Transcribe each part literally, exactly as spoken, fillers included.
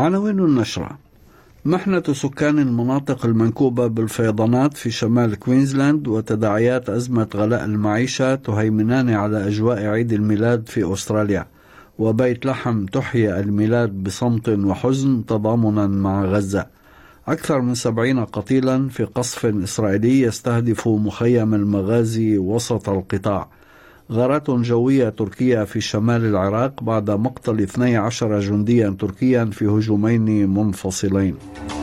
عناوين النشرة: محنة سكان المناطق المنكوبة بالفيضانات في شمال كوينزلاند وتداعيات أزمة غلاء المعيشة تهيمنان على أجواء عيد الميلاد في أستراليا، وبيت لحم تحيي الميلاد بصمت وحزن تضامنا مع غزة. أكثر من سبعين قتيلا في قصف إسرائيلي يستهدف مخيم المغازي وسط القطاع. غارات جوية تركية في شمال العراق بعد مقتل اثني عشر جنديا تركيا في هجومين منفصلين.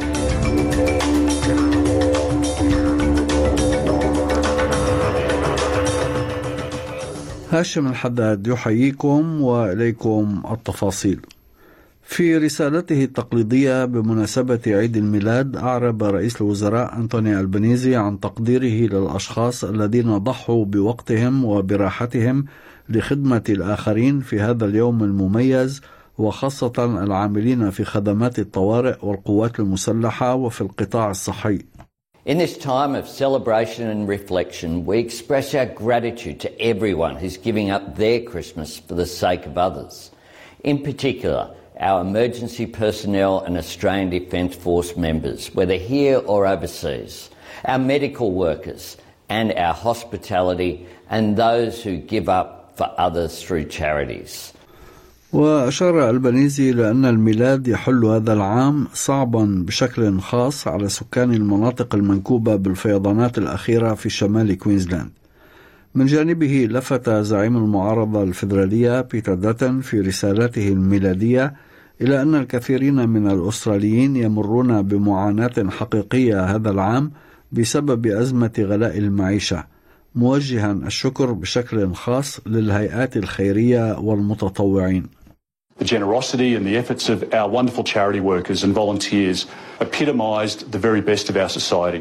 هاشم الحداد يحييكم وإليكم التفاصيل. في رسالته التقليدية بمناسبة عيد الميلاد، أعرب رئيس الوزراء أنتوني ألبانيزي عن تقديره للأشخاص الذين ضحوا بوقتهم وبراحتهم لخدمة الآخرين في هذا اليوم المميز، وخاصة العاملين في خدمات الطوارئ والقوات المسلحة وفي القطاع الصحي. In this time of celebration and reflection, we express our gratitude to everyone who's giving up their Christmas for the sake of others. In particular, our emergency personnel and Australian Defence Force members, whether here or overseas, our medical workers and our hospitality, and those who give up for others through charities. وأشار ألبانيزي لأن الميلاد يحل هذا العام صعبا بشكل خاص على سكان المناطق المنكوبة بالفيضانات الأخيرة في شمال كوينزلاند. من جانبه لفت زعيم المعارضة الفيدرالية بيتر داتن في رسالته الميلادية إلى أن الكثيرين من الأستراليين يمرون بمعاناة حقيقية هذا العام بسبب أزمة غلاء المعيشة، موجها الشكر بشكل خاص للهيئات الخيرية والمتطوعين. The generosity and the efforts of our wonderful charity workers and volunteers epitomised the very best of our society.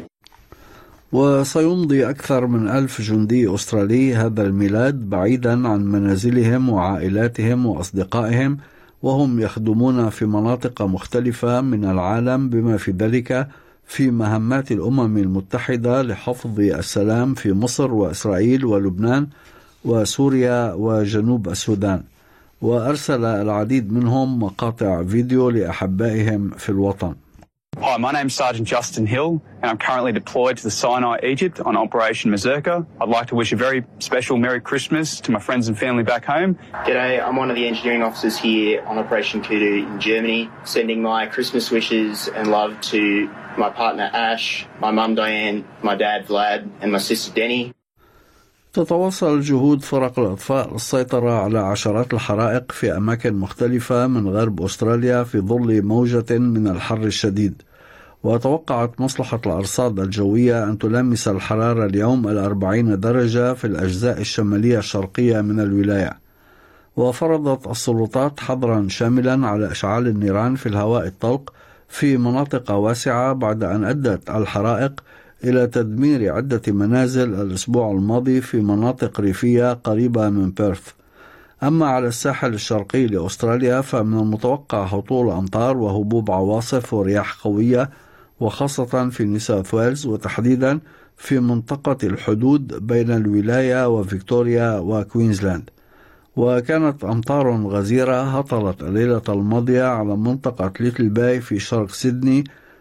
وسيمضي أكثر من ألف جندي أسترالي هذا الميلاد بعيدا عن منازلهم وعائلاتهم وأصدقائهم، وهم يخدمون في مناطق مختلفة من العالم بما في ذلك في مهمات الأمم المتحدة لحفظ السلام في مصر وإسرائيل ولبنان وسوريا وجنوب السودان. وأرسل العديد منهم مقاطع فيديو لأحبائهم في الوطن. Hi, my name's Sergeant Justin Hill, and I'm currently deployed to the Sinai, Egypt on Operation Mazurka. I'd like to wish a very special Merry Christmas to my friends and family back home. G'day, I'm one of the engineering officers here on Operation Kudu in Germany, sending my Christmas wishes and love to my partner Ash, my mum Diane, my dad Vlad, and my sister Denny. تتواصل جهود فرق الإطفاء للسيطرة على عشرات الحرائق في أماكن مختلفة من غرب أستراليا في ظل موجة من الحر الشديد. وتوقعت مصلحة الأرصاد الجوية أن تلامس الحرارة اليوم الأربعين درجة في الأجزاء الشمالية الشرقية من الولاية. وفرضت السلطات حظرا شاملا على إشعال النيران في الهواء الطلق في مناطق واسعة بعد أن أدت الحرائق إلى تدمير عدة منازل الأسبوع الماضي في مناطق ريفية قريبة من بيرث. أما على الساحل الشرقي لأستراليا فمن المتوقع هطول أمطار وهبوب عواصف ورياح قوية، وخاصة في نيو ساوث ويلز وتحديدا في منطقة الحدود بين الولاية وفيكتوريا وكوينزلاند. وكانت أمطار غزيرة هطلت الليلة الماضية على منطقة ليتل باي في شرق سيدني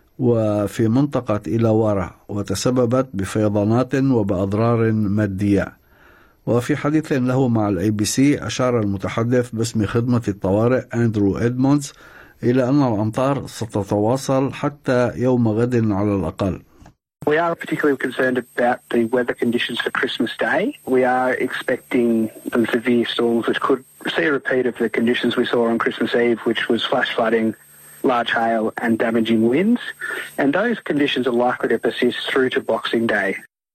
وفي منطقة إيلاوارا، وتسببت بفيضانات وبأضرار مادية. وفي حديث له مع الاي بي سي أشار المتحدث باسم خدمة الطوارئ أندرو إدموندز إلى أن الأمطار ستتواصل حتى يوم غد على الأقل. We are particularly concerned about the weather conditions for Christmas Day. We are expecting some severe storms which could see a repeat of the conditions we saw on Christmas Eve, which was flash flooding, large hail and damaging winds. And those conditions are likely to persist through to Boxing Day.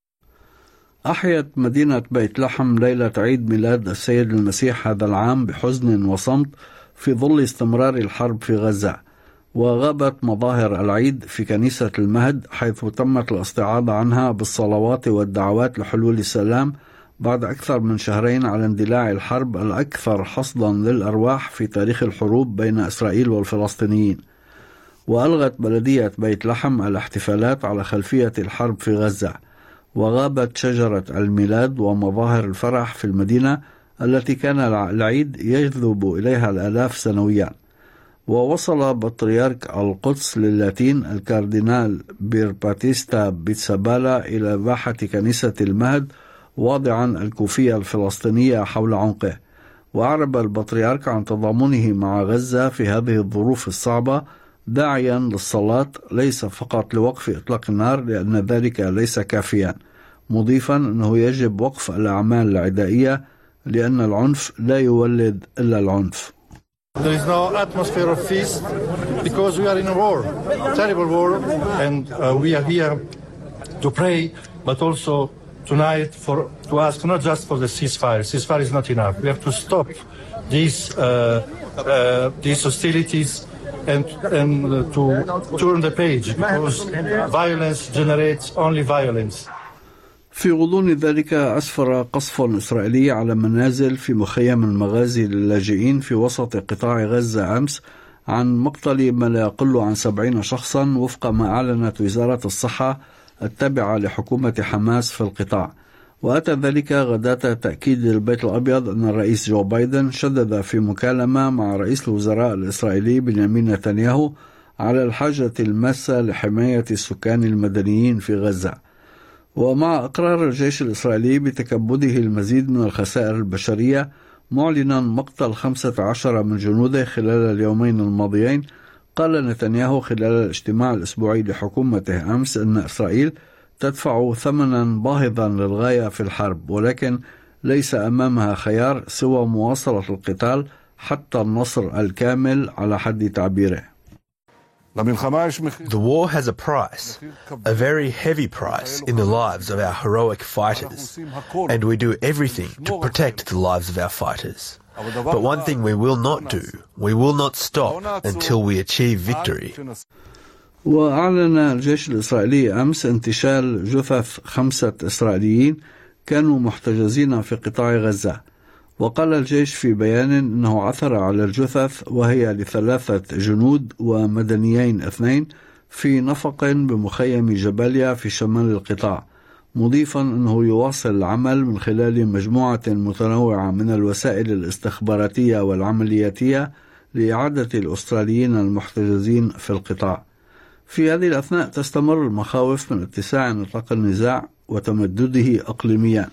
أحيت مدينة بيت لحم ليلة عيد ميلاد السيد المسيح هذا العام بحزن وصمت في ظل استمرار الحرب في غزة. وغابت مظاهر العيد في كنيسة المهد، حيث تمت الاستعاضة عنها بالصلوات والدعوات لحلول السلام بعد أكثر من شهرين على اندلاع الحرب الأكثر حصدا للأرواح في تاريخ الحروب بين إسرائيل والفلسطينيين. وألغت بلدية بيت لحم الاحتفالات على خلفية الحرب في غزة، وغابت شجرة الميلاد ومظاهر الفرح في المدينة التي كان العيد يجذب إليها الآلاف سنويا. ووصل بطريرك القدس للاتين الكاردينال بيرباتيستا بيتسابالا إلى باحة كنيسة المهد واضعا الكوفية الفلسطينية حول عنقه، وأعرب البطريرك عن تضامنه مع غزة في هذه الظروف الصعبة، داعيا للصلاة ليس فقط لوقف إطلاق النار لأن ذلك ليس كافيا، مضيفا أنه يجب وقف الأعمال العدائية لأن العنف لا يولد إلا العنف. There is no atmosphere of peace because we are in a war, terrible war, and uh, we are here to pray, but also tonight for to ask not just for the ceasefire. Ceasefire is not enough. We have to stop these uh, uh, these hostilities and and uh, to turn the page because violence generates only violence. في غضون ذلك أسفر قصف إسرائيلي على منازل في مخيم المغازي للاجئين في وسط قطاع غزة أمس عن مقتل ما لا يقل عن سبعين شخصا وفق ما أعلنت وزارة الصحة التابعة لحكومة حماس في القطاع. وأتى ذلك غداة تأكيد البيت الأبيض أن الرئيس جو بايدن شدد في مكالمة مع رئيس الوزراء الإسرائيلي بنيامين نتنياهو على الحاجة الماسة لحماية السكان المدنيين في غزة. ومع إقرار الجيش الإسرائيلي بتكبده المزيد من الخسائر البشرية معلنا مقتل خمسة عشر من جنوده خلال اليومين الماضيين، قال نتنياهو خلال الاجتماع الأسبوعي لحكومته أمس أن إسرائيل تدفع ثمنا باهظا للغاية في الحرب، ولكن ليس أمامها خيار سوى مواصلة القتال حتى النصر الكامل على حد تعبيره. The war has a price, a very heavy price in the lives of our heroic fighters, and we do everything to protect the lives of our fighters. But one thing we will not do, we will not stop until we achieve victory. وأعلن الجيش الإسرائيلي أمس انتشال جثث خمسة إسرائيليين كانوا محتجزين في قطاع غزة. وقال الجيش في بيان أنه عثر على الجثث وهي لثلاثة جنود ومدنيين اثنين في نفق بمخيم جباليا في شمال القطاع، مضيفا أنه يواصل العمل من خلال مجموعة متنوعة من الوسائل الاستخباراتية والعملياتية لإعادة الأستراليين المحتجزين في القطاع. في هذه الأثناء تستمر المخاوف من اتساع نطاق النزاع وتمدده إقليميا،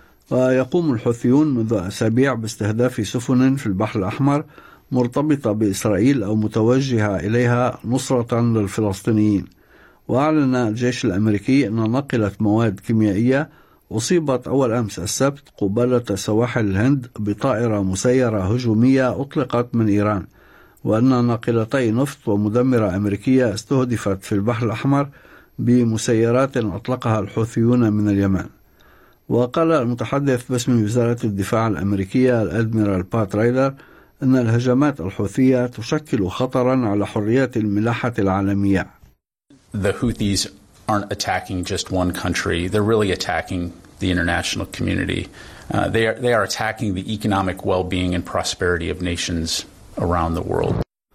ويقوم الحوثيون منذ أسابيع باستهداف سفن في البحر الأحمر مرتبطة بإسرائيل أو متوجهة إليها نصرة للفلسطينيين. وأعلن الجيش الأمريكي أن ناقلة مواد كيميائية أصيبت أول أمس السبت قبالة سواحل الهند بطائرة مسيرة هجومية أطلقت من إيران، وأن ناقلتي نفط ومدمرة أمريكية استهدفت في البحر الأحمر بمسيرات أطلقها الحوثيون من اليمن. وقال المتحدث باسم وزارة الدفاع الأمريكية الأدميرال بات رايدر أن الهجمات الحوثية تشكل خطرا على حرية الملاحة العالمية. The Houthis aren't attacking just one country. They're really attacking the international community. Uh, they are, they are attacking the economic well-being and prosperity of nations around the world.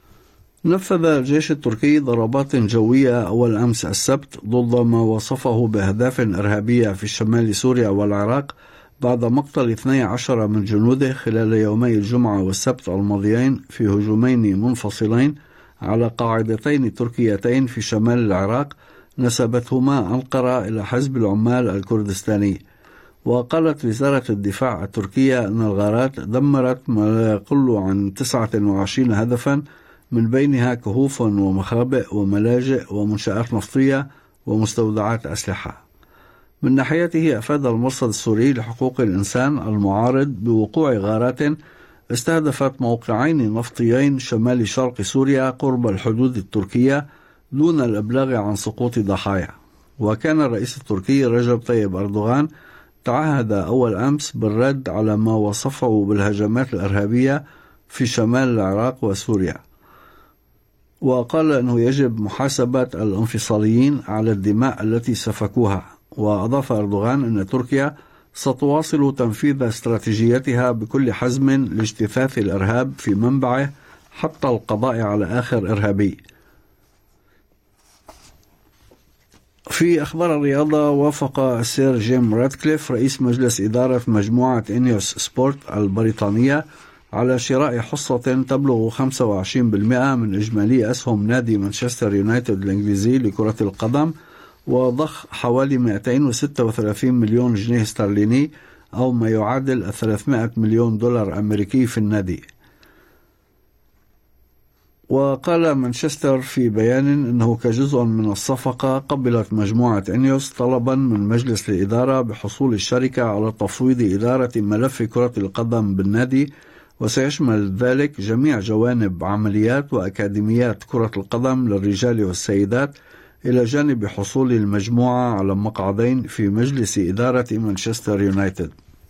نفذ الجيش التركي ضربات جوية أول أمس السبت ضد ما وصفه بأهداف إرهابية في شمال سوريا والعراق بعد مقتل اثني عشر من جنوده خلال يومي الجمعة والسبت الماضيين في هجومين منفصلين على قاعدتين تركيتين في شمال العراق نسبتهما أنقرة إلى حزب العمال الكردستاني. وقالت وزارة الدفاع التركية أن الغارات دمرت ما لا يقل عن تسعة وعشرين هدفا، من بينها كهوف ومخابئ وملاجئ ومنشآت نفطية ومستودعات أسلحة. من ناحيته أفاد المرصد السوري لحقوق الإنسان المعارض بوقوع غارات استهدفت موقعين نفطيين شمال شرق سوريا قرب الحدود التركية دون الإبلاغ عن سقوط ضحايا. وكان الرئيس التركي رجب طيب أردوغان تعهد أول أمس بالرد على ما وصفه بالهجمات الإرهابية في شمال العراق وسوريا، وقال أنه يجب محاسبة الانفصاليين على الدماء التي سفكوها. وأضاف أردوغان أن تركيا ستواصل تنفيذ استراتيجيتها بكل حزم لاجتثاث الإرهاب في منبعه حتى القضاء على آخر إرهابي. في أخبار الرياضة، وافق السير جيم راتكليف رئيس مجلس إدارة مجموعة إنيوس سبورت البريطانية على شراء حصة تبلغ خمسة وعشرين بالمئة من إجمالي أسهم نادي مانشستر يونايتد الإنجليزي لكرة القدم، وضخ حوالي مئتين وستة وثلاثين مليون جنيه استرليني أو ما يعادل ثلاثمائة مليون دولار أمريكي في النادي. وقال مانشستر في بيان أنه كجزء من الصفقة قبلت مجموعة إنيوس طلبا من مجلس الإدارة بحصول الشركة على تفويض إدارة ملف كرة القدم بالنادي، وسيشمل ذلك جميع جوانب عمليات وأكاديميات كرة القدم للرجال والسيدات، إلى جانب حصول المجموعة على مقعدين في مجلس إدارة مانشستر يونايتد.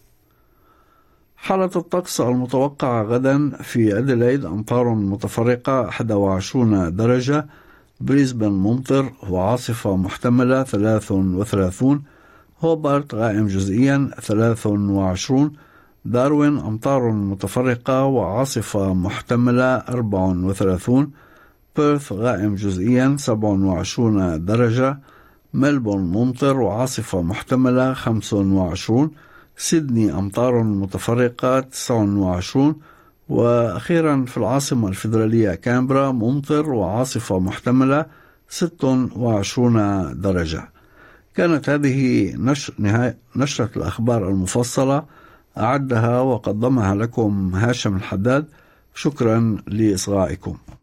حالة الطقس المتوقعة غدا: في أديلايد أمطار متفرقة واحد وعشرين درجة، بريسبن ممطر وعاصفة محتملة ثلاثة وثلاثين، هوبارت غائم جزئيا ثلاثة وعشرين، داروين أمطار متفرقة وعاصفة محتملة أربعة وثلاثين، بيرث غائم جزئيا سبعة وعشرين درجة، ملبورن ممطر وعاصفة محتملة خمسة وعشرين، سيدني أمطار متفرقة تسعة وعشرين، وأخيرا في العاصمة الفيدرالية كامبرا ممطر وعاصفة محتملة ستة وعشرين درجة. كانت هذه نشر نهاية نشرة الأخبار المفصلة، أعدها وقدمها لكم هاشم الحداد. شكرا لإصغائكم.